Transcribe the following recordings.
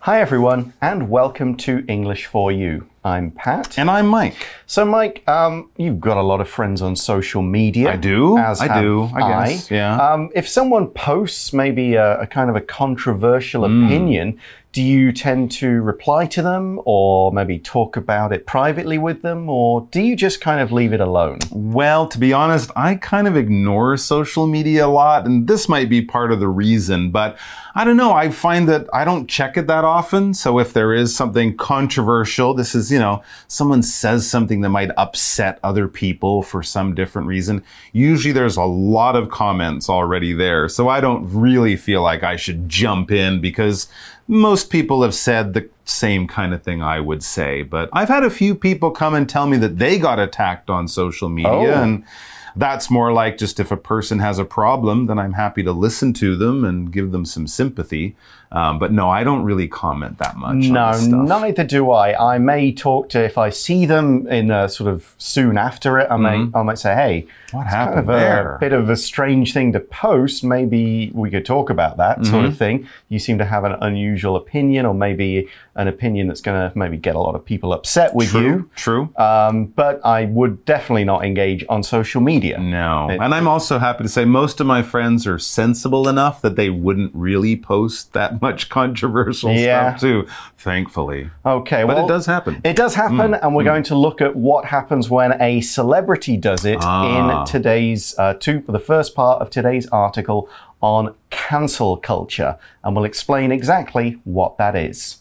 Hi everyone, and welcome to English for You. I'm Pat. And I'm Mike. So Mike, you've got a lot of friends on social media. I do. As I guess. Yeah. If someone posts maybe a kind of a controversial opinion, do you tend to reply to them or maybe talk about it privately with them, or do you just kind of leave it alone? Well, to be honest, I kind of ignore social media a lot, and this might be part of the reason, but I don't know. I find that I don't check it that often. So if there is something controversial, this is, someone says something that might upset other people for some different reason. Usually there's a lot of comments already there. So I don't really feel like I should jump in because most people have said the same kind of thing I would say. But I've had a few people come and tell me that they got attacked on social media. And that's more like just if a person has a problem, then I'm happy to listen to them and give them some sympathy. But no, I don't really comment that much on this stuff. No, neither do I. I may talk to, if I see them in sort of soon after it, I might say, hey, what happened there? A bit of a strange thing to post. Maybe we could talk about that sort of thing. You seem to have an unusual opinion, or maybe an opinion that's going to maybe get a lot of people upset with you. True. But I would definitely not engage on social media. No. And I'm also happy to say most of my friends are sensible enough that they wouldn't really post that much controversial stuff too, thankfully. Okay, but it does happen. It does happen, and we're going to look at what happens when a celebrity does it in today's, the first part of today's article on cancel culture, and we'll explain exactly what that is.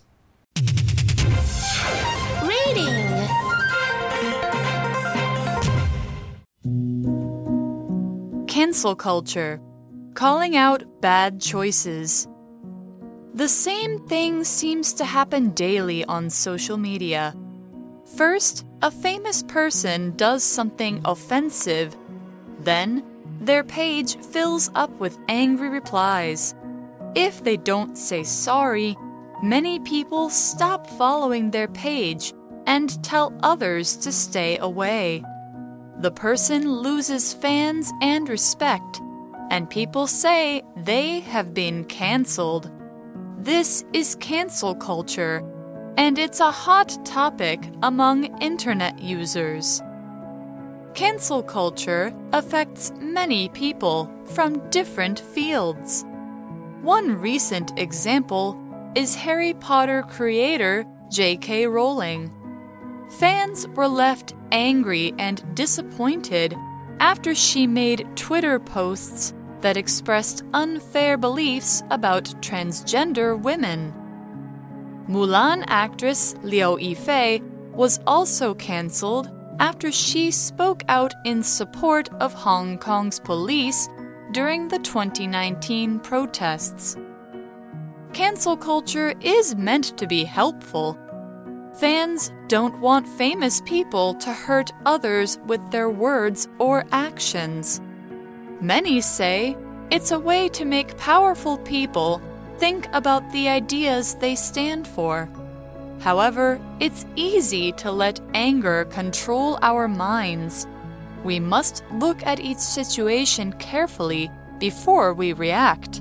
Cancel culture. Calling out bad choices. The same thing seems to happen daily on social media. First, a famous person does something offensive. Then, their page fills up with angry replies. If they don't say sorry, many people stop following their page and tell others to stay away. The person loses fans and respect, and people say they have been canceled. This is cancel culture, and it's a hot topic among internet users. Cancel culture affects many people from different fields. One recent example is Harry Potter creator J.K. Rowling. Fans were left angry and disappointed after she made Twitter posts that expressed unfair beliefs about transgender women. Mulan actress Liu Yifei was also cancelled after she spoke out in support of Hong Kong's police during the 2019 protests. Cancel culture is meant to be helpful. Fans don't want famous people to hurt others with their words or actions. Many say it's a way to make powerful people think about the ideas they stand for. However, it's easy to let anger control our minds. We must look at each situation carefully before we react.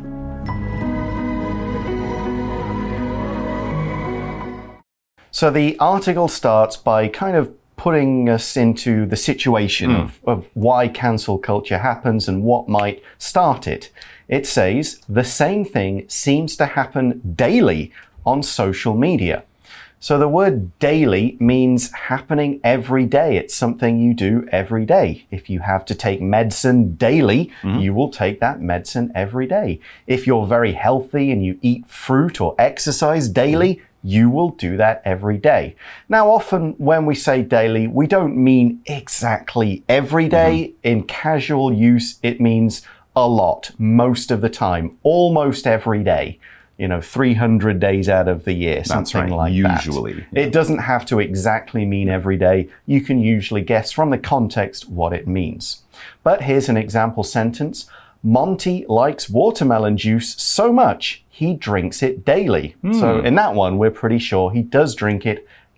So the article starts by kind of putting us into the situation of why cancel culture happens and what might start it. It says, the same thing seems to happen daily on social media. So the word daily means happening every day. It's something you do every day. If you have to take medicine daily, you will take that medicine every day. If you're very healthy and you eat fruit or exercise daily, you will do that every day. Now, often when we say daily, we don't mean exactly every day. In casual use, it means a lot, most of the time, almost every day. 300 days out of the year, something like that. Usually. It doesn't have to exactly mean every day. You can usually guess from the context what it means. But here's an example sentence. Monty likes watermelon juice so much he drinks it daily. So in that one, we're pretty sure he does drink it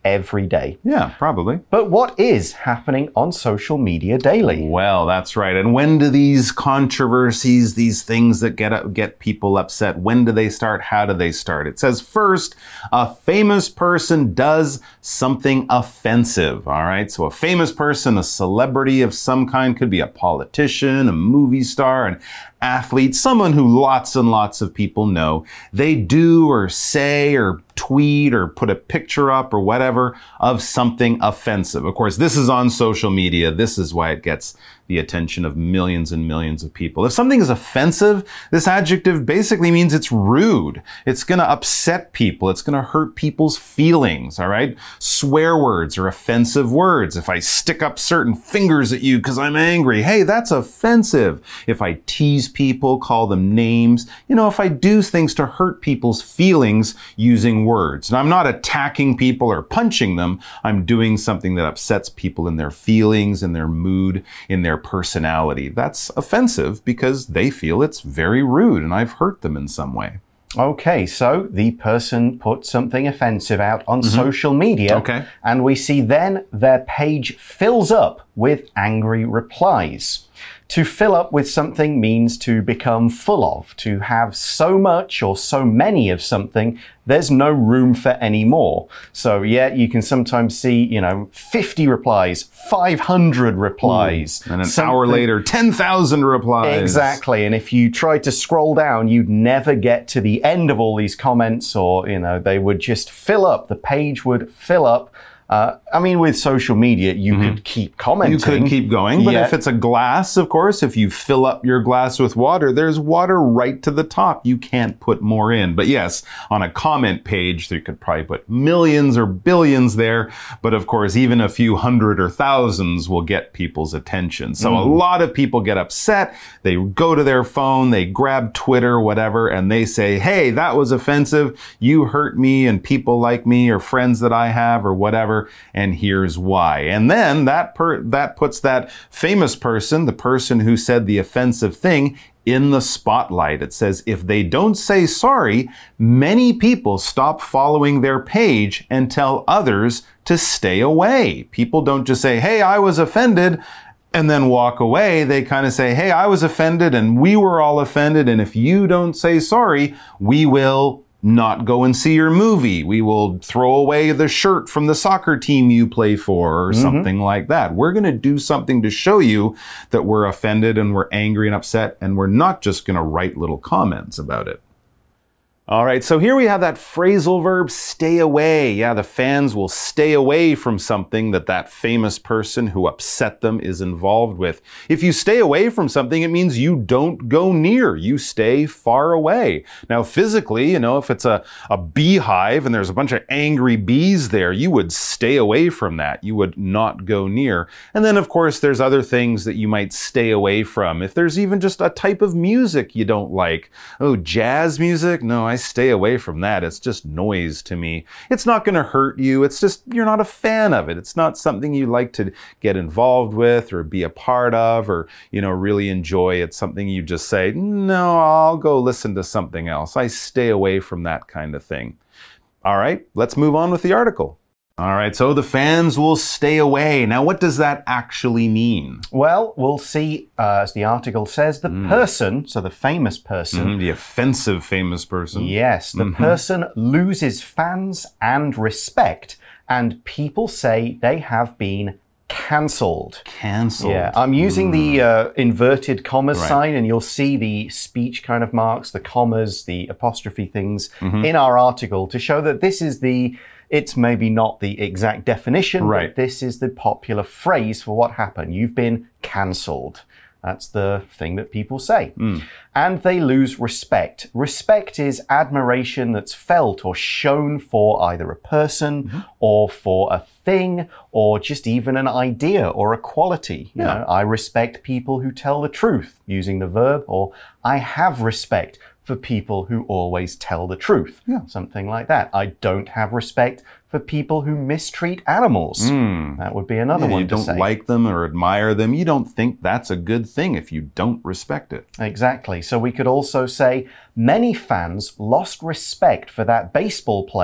every day. Yeah, probably. But what is happening on social media daily? Well, that's right. And when do these controversies, these things that get people upset, when do they start? How do they start? It says first, a famous person does something offensive. All right. So a famous person, a celebrity of some kind, could be a politician, a movie star, an athlete, someone who lots and lots of people know. They do or say or tweet or put a picture up or whatever of something offensive. Of course, this is on social media. This is why it gets the attention of millions and millions of people. If something is offensive, this adjective basically means it's rude. It's going to upset people. It's going to hurt people's feelings, all right? Swear words are offensive words. If I stick up certain fingers at you because I'm angry, hey, that's offensive. If I tease people, call them names, if I do things to hurt people's feelings using words. And I'm not attacking people or punching them. I'm doing something that upsets people in their feelings, in their mood, in their personality. That's offensive because they feel it's very rude and I've hurt them in some way. Okay, so the person put something offensive out on social media. Okay. And we see then their page fills up with angry replies. To fill up with something means to become full of, to have so much or so many of something, there's no room for any more. So yeah, you can sometimes see, 50 replies, 500 replies. And an hour later, 10,000 replies. Exactly. And if you tried to scroll down, you'd never get to the end of all these comments or, they would just fill up. The page would fill up. With social media, you could keep commenting. You could keep going, but if it's a glass, of course, if you fill up your glass with water, there's water right to the top. You can't put more in. But yes, on a comment page, you could probably put millions or billions there. But of course, even a few hundred or thousands will get people's attention. So a lot of people get upset. They go to their phone, they grab Twitter, whatever, and they say, hey, that was offensive. You hurt me and people like me or friends that I have or whatever. And here's why. And then that puts that famous person, the person who said the offensive thing, in the spotlight. It says if they don't say sorry, many people stop following their page and tell others to stay away. People don't just say, hey, I was offended, and then walk away. They kind of say, hey, I was offended and we were all offended. And if you don't say sorry, we will not go and see your movie. We will throw away the shirt from the soccer team you play for or something like that. We're going to do something to show you that we're offended and we're angry and upset, and we're not just going to write little comments about it. All right, so here we have that phrasal verb, stay away. Yeah, the fans will stay away from something that famous person who upset them is involved with. If you stay away from something, it means you don't go near. You stay far away. Now, physically, if it's a beehive and there's a bunch of angry bees there, you would stay away from that. You would not go near. And then, of course, there's other things that you might stay away from. If there's even just a type of music you don't like. Oh, jazz music? No, I stay away from that. It's just noise to me. It's not going to hurt you. It's just you're not a fan of it. It's not something you like to get involved with or be a part of or, really enjoy. It's something you just say, no, I'll go listen to something else. I stay away from that kind of thing. All right, let's move on with the article. All right, so the fans will stay away. Now, what does that actually mean? Well, we'll see, as the article says, the person, so the famous person. The offensive famous person. Yes, the person loses fans and respect, and people say they have been cancelled. Cancelled. Yeah, I'm using the inverted commas sign, and you'll see the speech kind of marks, the commas, the apostrophe things in our article to show that this is it's maybe not the exact definition, but this is the popular phrase for what happened. You've been cancelled. That's the thing that people say. And they lose respect. Respect is admiration that's felt or shown for either a person or for a thing or just even an idea or a quality. You know, I respect people who tell the truth, using the verb, or I have respect for people who always tell the truth. Something like that. I don't have respect for people who mistreat animals. That would be another one to say. You don't like them or admire them. You don't think that's a good thing if you don't respect it. Exactly. So we could also say many fans lost respect for that baseball player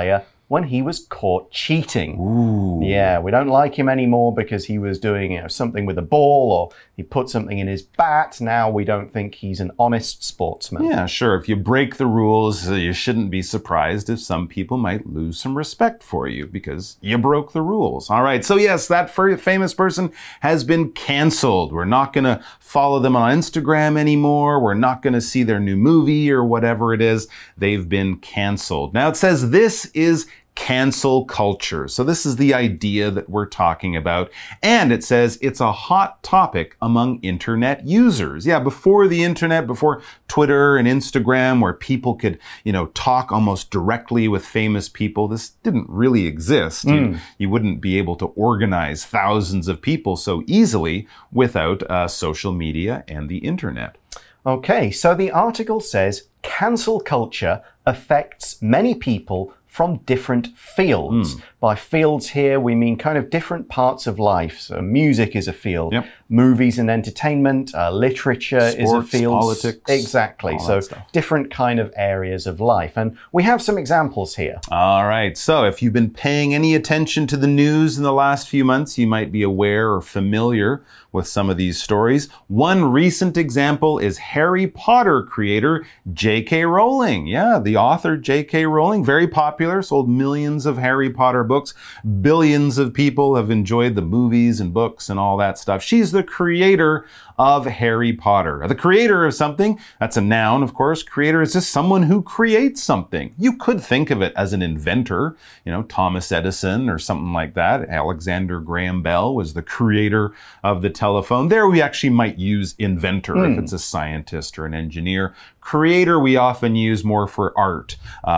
when he was caught cheating. Ooh. Yeah, we don't like him anymore because he was doing something with a ball or he put something in his bat. Now we don't think he's an honest sportsman. Yeah, sure. If you break the rules, you shouldn't be surprised if some people might lose some respect for you because you broke the rules. All right. So yes, that famous person has been canceled. We're not going to follow them on Instagram anymore. We're not going to see their new movie or whatever it is. They've been canceled. Now it says this is cancel culture. So this is the idea that we're talking about. And it says it's a hot topic among internet users. Yeah, before the internet, before Twitter and Instagram, where people could, talk almost directly with famous people, this didn't really exist. You wouldn't be able to organize thousands of people so easily without social media and the internet. Okay, so the article says cancel culture affects many people from different fields. By fields here, we mean kind of different parts of life. So music is a field, movies and entertainment, literature is a field. Politics. Exactly. So different kind of areas of life. And we have some examples here. All right. So if you've been paying any attention to the news in the last few months, you might be aware or familiar with some of these stories. One recent example is Harry Potter creator J.K. Rowling. Yeah, the author J.K. Rowling, very popular, sold millions of Harry Potter books. Billions of people have enjoyed the movies and books and all that stuff. She's the creator of Harry Potter. The creator of something, that's a noun, of course. Creator is just someone who creates something. You could think of it as an inventor, Thomas Edison or something like that. Alexander Graham Bell was the creator of the telephone. There we actually might use inventor if it's a scientist or an engineer. Creator we often use more for art.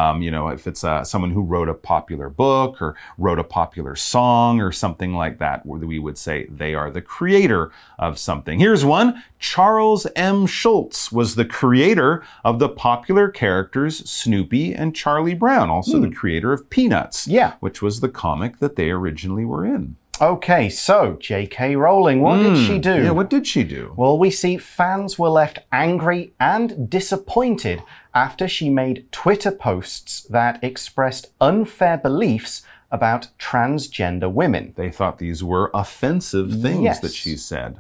If it's someone who wrote a popular book or wrote a popular song or something like that, where we would say they are the creator of something. Here's one. Charles M. Schulz was the creator of the popular characters Snoopy and Charlie Brown, also the creator of Peanuts, which was the comic that they originally were in. Okay, so J.K. Rowling, what did she do? Yeah, what did she do? Well, we see fans were left angry and disappointed after she made Twitter posts that expressed unfair beliefs about transgender women. They thought these were offensive things that she said.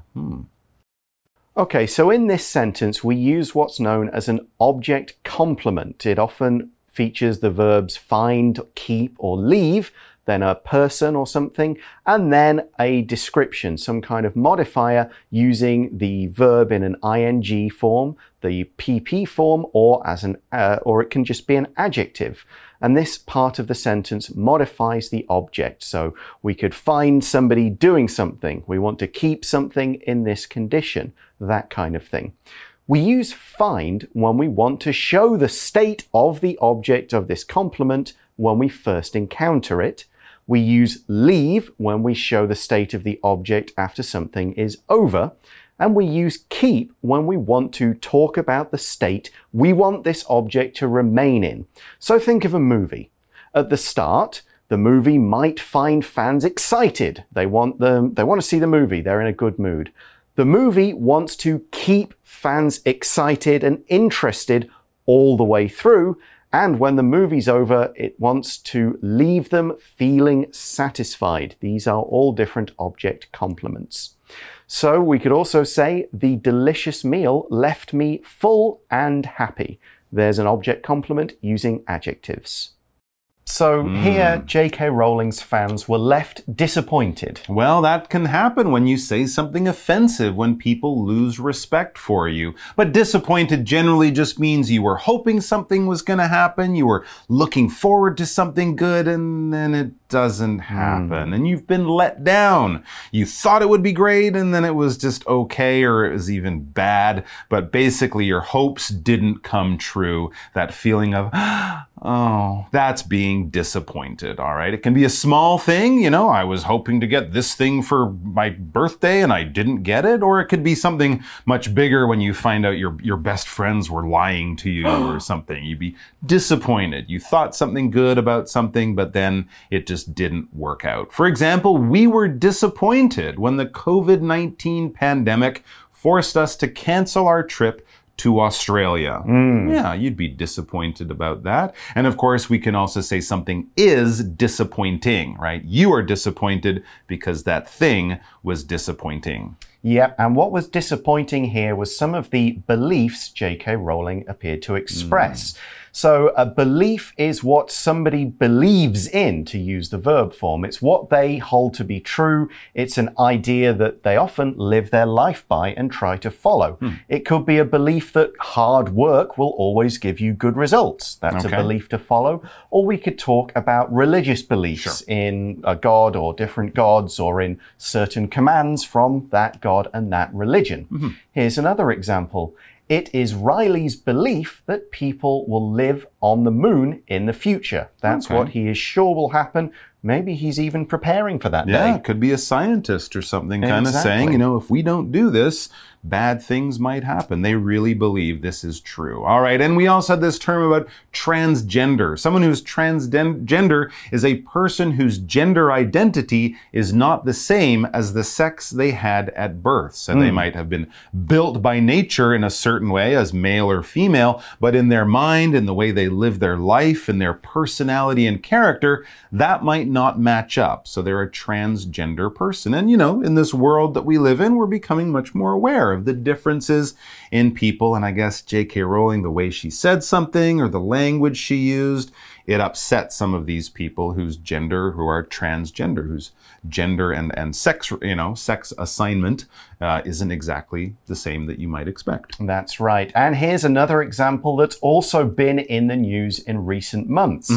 Okay, so in this sentence, we use what's known as an object complement. It often features the verbs find, keep, or leave, then a person or something, and then a description, some kind of modifier using the verb in an ing form, the pp form, or or it can just be an adjective. And this part of the sentence modifies the object. So we could find somebody doing something. We want to keep something in this condition, that kind of thing. We use find when we want to show the state of the object of this complement when we first encounter it. We use leave when we show the state of the object after something is over. And we use keep when we want to talk about the state we want this object to remain in. So think of a movie. At the start, the movie might find fans excited. They want to see the movie. They're in a good mood. The movie wants to keep fans excited and interested all the way through. And when the movie's over, it wants to leave them feeling satisfied. These are all different object complements. So we could also say, the delicious meal left me full and happy. There's an object complement using adjectives. So here, J.K. Rowling's fans were left disappointed. Well, that can happen when you say something offensive, when people lose respect for you. But disappointed generally just means you were hoping something was going to happen, you were looking forward to something good, and then it doesn't happen. And you've been let down. You thought it would be great, and then it was just okay, or it was even bad. But basically, your hopes didn't come true. That feeling of, oh, that's being disappointed, all right? It can be a small thing, I was hoping to get this thing for my birthday and I didn't get it, or it could be something much bigger when you find out your best friends were lying to you or something. You'd be disappointed. You thought something good about something, but then it just didn't work out. For example, we were disappointed when the COVID-19 pandemic forced us to cancel our trip to Australia. Yeah, you'd be disappointed about that. And of course, we can also say something is disappointing, right? You are disappointed because that thing was disappointing. Yep, and what was disappointing here was some of the beliefs J.K. Rowling appeared to express. So a belief is what somebody believes in, to use the verb form. It's what they hold to be true. It's an idea that they often live their life by and try to follow. It could be a belief that hard work will always give you good results. That's a belief to follow. Or we could talk about religious beliefs in a god or different gods, or in certain commands from that god and that religion. Here's another example. It is Riley's belief that people will live on the moon in the future. That's what he is sure will happen. Maybe he's even preparing for that day. Yeah, could be a scientist or something kind of saying, you know, if we don't do this, bad things might happen. They really believe this is true. All right, and we also had this term about transgender. Someone who's transgender is a person whose gender identity is not the same as the sex they had at birth. So they might have been built by nature in a certain way as male or female, but in their mind, in the way they live their life, in their personality and character, that might not match up. So they're a transgender person. And, you know, in this world that we live in, we're becoming much more aware of the differences in people. And I guess J.K. Rowling, the way she said something or the language she used, it upset some of these people who are transgender, whose gender and sex, you know, sex assignment isn't exactly the same that you might expect. That's right. And here's another example that's also been in the news in recent months.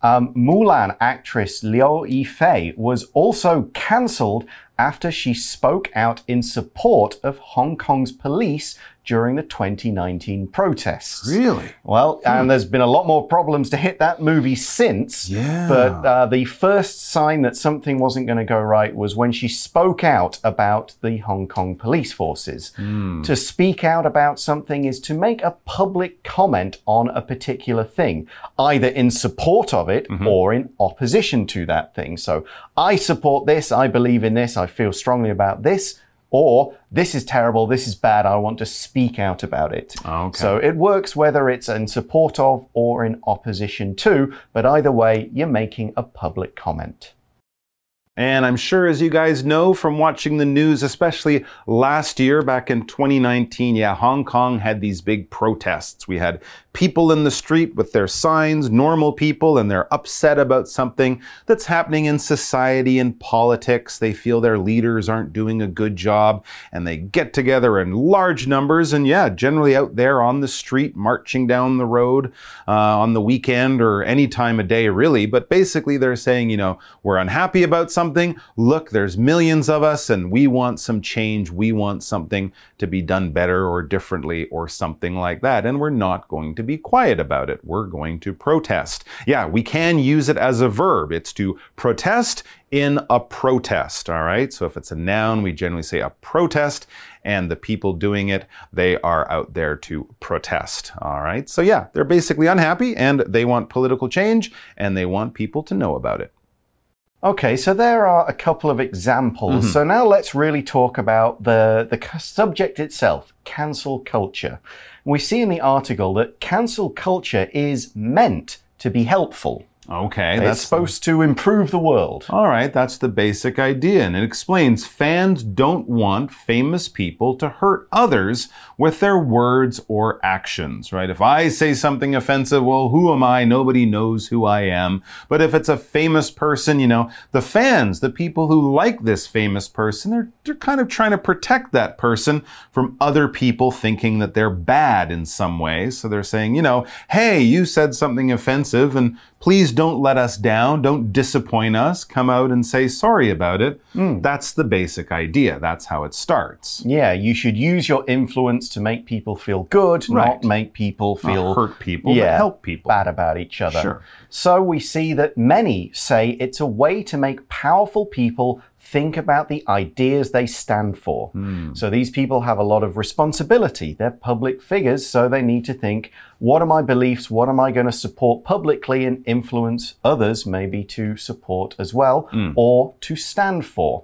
Mulan actress Liu Yifei was also cancelled after she spoke out in support of Hong Kong's police during the 2019 protests. Really? Well, and there's been a lot more problems to hit that movie since. Yeah. But the first sign that something wasn't going to go right was when she spoke out about the Hong Kong police forces. To speak out about something is to make a public comment on a particular thing, either in support of it or in opposition to that thing. So I support this, I believe in this, I feel strongly about this, or this is terrible, this is bad, I want to speak out about it. So it works whether it's in support of or in opposition to, but either way, you're making a public comment. And I'm sure, as you guys know from watching the news, especially last year, back in 2019, yeah, Hong Kong had these big protests. We had people in the street with their signs, normal people, and they're upset about something that's happening in society and politics. They feel their leaders aren't doing a good job, and they get together in large numbers, and yeah, generally out there on the street, marching down the road on the weekend or any time of day, really. But basically, they're saying, you know, we're unhappy about something. Look, there's millions of us, and we want some change. We want something to be done better or differently or something like that. And we're not going to be quiet about it. We're going to protest. Yeah, we can use it as a verb. It's to protest in a protest, all right? So if it's a noun, we generally say a protest, and the people doing it, they are out there to protest, all right? So yeah, they're basically unhappy, and they want political change, and they want people to know about it. Okay, so there are a couple of examples. So now let's really talk about the subject itself, cancel culture. We see in the article that cancel culture is meant to be helpful. Okay, that's supposed to improve the world. All right, that's the basic idea. And it explains fans don't want famous people to hurt others with their words or actions, right? If I say something offensive, well, who am I? Nobody knows who I am. But if it's a famous person, you know, the fans, the people who like this famous person, they're kind of trying to protect that person from other people thinking that they're bad in some way. So they're saying, you know, hey, you said something offensive, and please don't let us down. Don't disappoint us. Come out and say sorry about it. That's the basic idea. That's how it starts. Yeah, you should use your influence to make people feel good, not make people feel... Not hurt people, but help people. Bad about each other. Sure. So we see that many say it's a way to make powerful people think about the ideas they stand for. So these people have a lot of responsibility. They're public figures, so they need to think, what are my beliefs? What am I going to support publicly and influence others maybe to support as well or to stand for?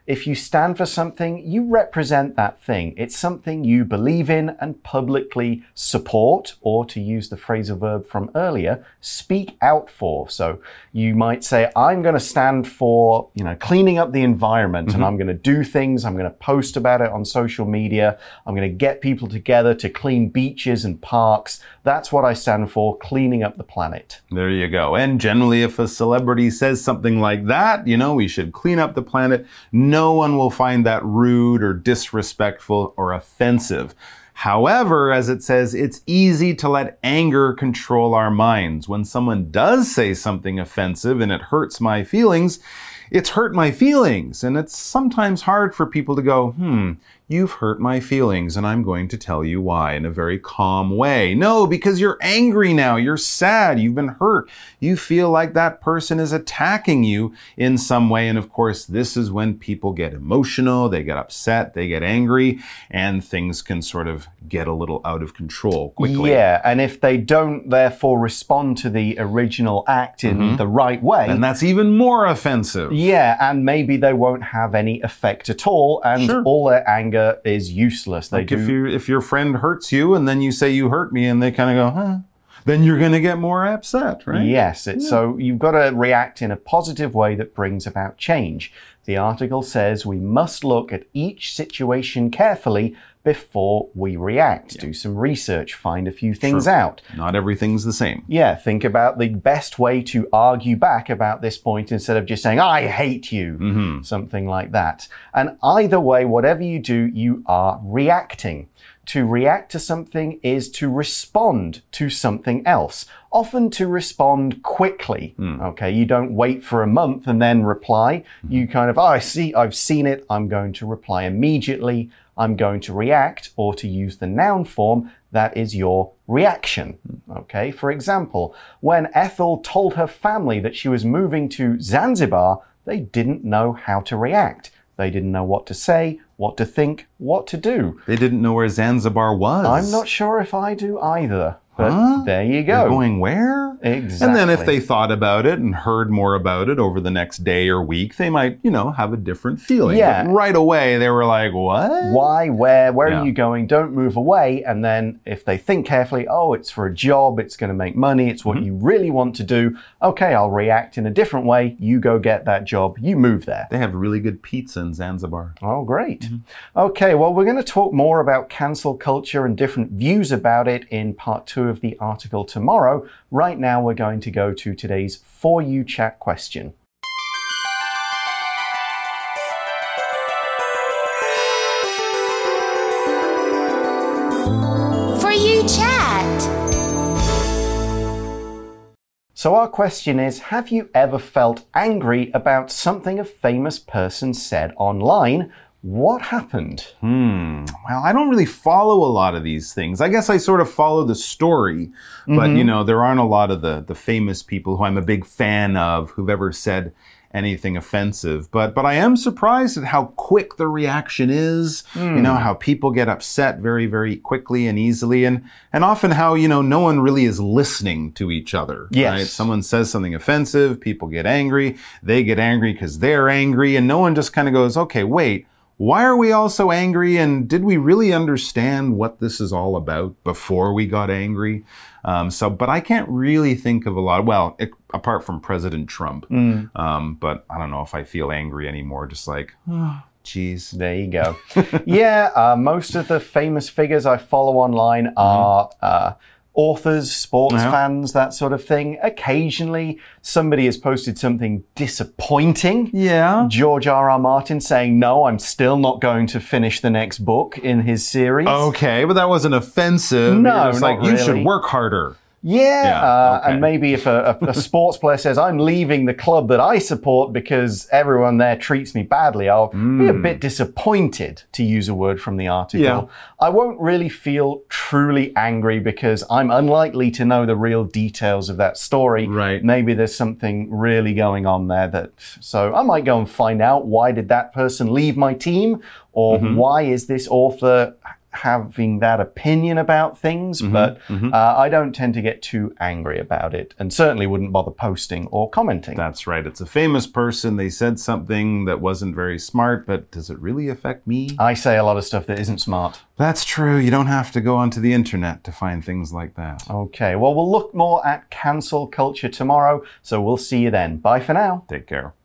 If you stand for something, you represent that thing. It's something you believe in and publicly support, or to use the phrasal verb from earlier, speak out for. So you might say, I'm going to stand for, cleaning up the environment, and I'm going to do things, I'm going to post about it on social media, I'm going to get people together to clean beaches and parks. That's what I stand for, cleaning up the planet. There you go. And generally, if a celebrity says something like that, we should clean up the planet, no one will find that rude or disrespectful or offensive. However, as it says, it's easy to let anger control our minds. When someone does say something offensive and it hurts my feelings, it's hurt my feelings. And it's sometimes hard for people to go, you've hurt my feelings, and I'm going to tell you why in a very calm way. No, because you're angry now. You're sad. You've been hurt. You feel like that person is attacking you in some way. And of course, this is when people get emotional, they get upset, they get angry, and things can sort of get a little out of control quickly. Yeah, and if they don't therefore respond to the original act in the right way, and that's even more offensive. Yeah, and maybe they won't have any effect at all, and all their anger is useless. Like if your friend hurts you and then you say you hurt me and they kind of go, then you're going to get more upset, right? Yes, so you've got to react in a positive way that brings about change. The article says we must look at each situation carefully before we react. Do some research, find a few things out. Not everything's the same. Yeah, think about the best way to argue back about this point instead of just saying, I hate you, something like that. And either way, whatever you do, you are reacting. To react to something is to respond to something else, often to respond quickly. Okay, you don't wait for a month and then reply. You kind of, I've seen it, I'm going to reply immediately. I'm going to react, or to use the noun form, that is your reaction. Okay, for example, when Ethel told her family that she was moving to Zanzibar, they didn't know how to react. They didn't know what to say, what to think, what to do. They didn't know where Zanzibar was. I'm not sure if I do either. But there you go. They're going where? Exactly. And then if they thought about it and heard more about it over the next day or week, they might, have a different feeling. Yeah. But right away, they were like, what? Why? Where are you going? Don't move away. And then if they think carefully, oh, it's for a job, it's going to make money, it's what you really want to do. Okay, I'll react in a different way. You go get that job. You move there. They have really good pizza in Zanzibar. Oh, great. Okay, well, we're going to talk more about cancel culture and different views about it in part 2 of the article tomorrow. Right now, we're going to go to today's For You Chat question. For You Chat. So our question is, have you ever felt angry about something a famous person said online? What happened? Well, I don't really follow a lot of these things. I guess I sort of follow the story, but there aren't a lot of the famous people who I'm a big fan of who've ever said anything offensive. But I am surprised at how quick the reaction is, how people get upset very, very quickly and easily, and often how, no one really is listening to each other. Yes. Right? Someone says something offensive, people get angry, they get angry because they're angry, and no one just kind of goes, okay, wait, why are we all so angry? And did we really understand what this is all about before we got angry? But I can't really think of a lot, apart from President Trump. But I don't know if I feel angry anymore, just like, geez. There you go. Yeah, most of the famous figures I follow online are authors, sports fans, that sort of thing. Occasionally, somebody has posted something disappointing. Yeah. George R.R. Martin saying, no, I'm still not going to finish the next book in his series. Okay, but that wasn't offensive. No, it's like, you should work harder. Yeah, and maybe if a sports player says, I'm leaving the club that I support because everyone there treats me badly, I'll be a bit disappointed, to use a word from the article. Yeah. I won't really feel truly angry because I'm unlikely to know the real details of that story. Right. Maybe there's something really going on there so I might go and find out, why did that person leave my team? Or why is this author having that opinion about things, but I don't tend to get too angry about it, and certainly wouldn't bother posting or commenting. That's right. It's a famous person. They said something that wasn't very smart, but does it really affect me? I say a lot of stuff that isn't smart. That's true. You don't have to go onto the internet to find things like that. Okay, well, we'll look more at cancel culture tomorrow, so we'll see you then. Bye for now. Take care.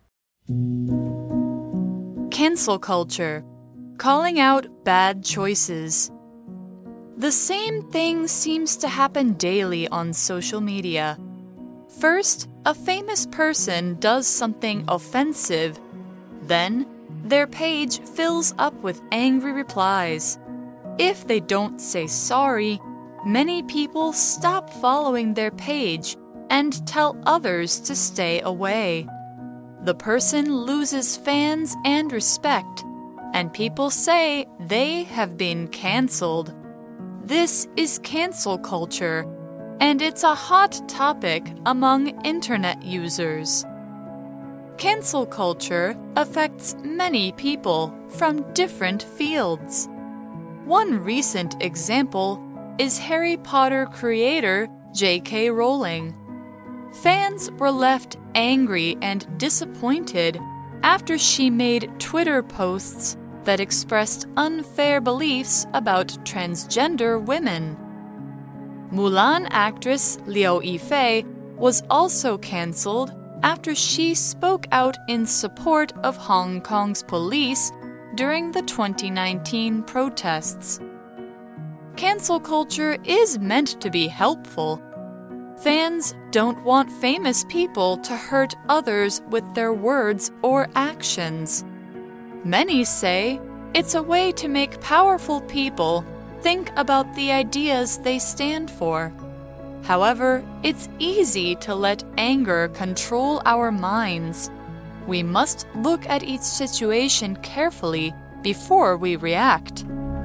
Cancel culture. Calling out bad choices. The same thing seems to happen daily on social media. First, a famous person does something offensive. Then, their page fills up with angry replies. If they don't say sorry, many people stop following their page and tell others to stay away. The person loses fans and respect, and people say they have been cancelled. This is cancel culture, and it's a hot topic among internet users. Cancel culture affects many people from different fields. One recent example is Harry Potter creator J.K. Rowling. Fans were left angry and disappointed after she made Twitter posts that expressed unfair beliefs about transgender women. Mulan actress Liu Yifei was also cancelled after she spoke out in support of Hong Kong's police during the 2019 protests. Cancel culture is meant to be helpful. Fans don't want famous people to hurt others with their words or actions. Many say it's a way to make powerful people think about the ideas they stand for. However, it's easy to let anger control our minds. We must look at each situation carefully before we react.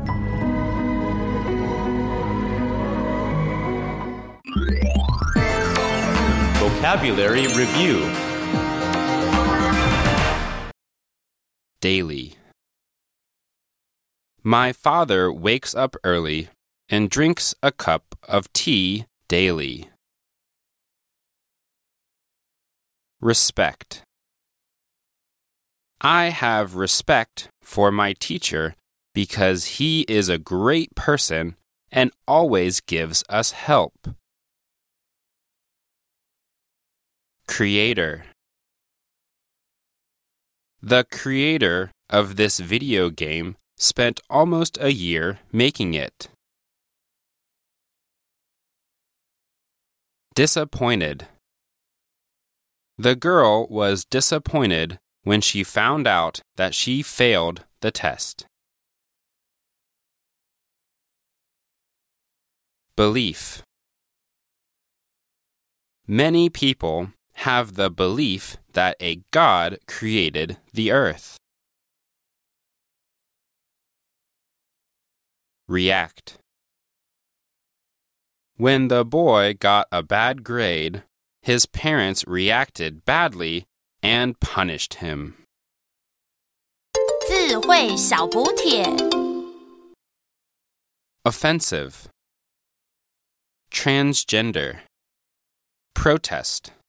Vocabulary Review. Daily. My father wakes up early and drinks a cup of tea daily. Respect. I have respect for my teacher because he is a great person and always gives us help. Creator. The creator of this video game spent almost a year making it. Disappointed. The girl was disappointed when she found out that she failed the test. Belief. Many people have the belief that a God created the earth. React. When the boy got a bad grade, his parents reacted badly and punished him. 智慧小補帖 Offensive. Transgender. Protest.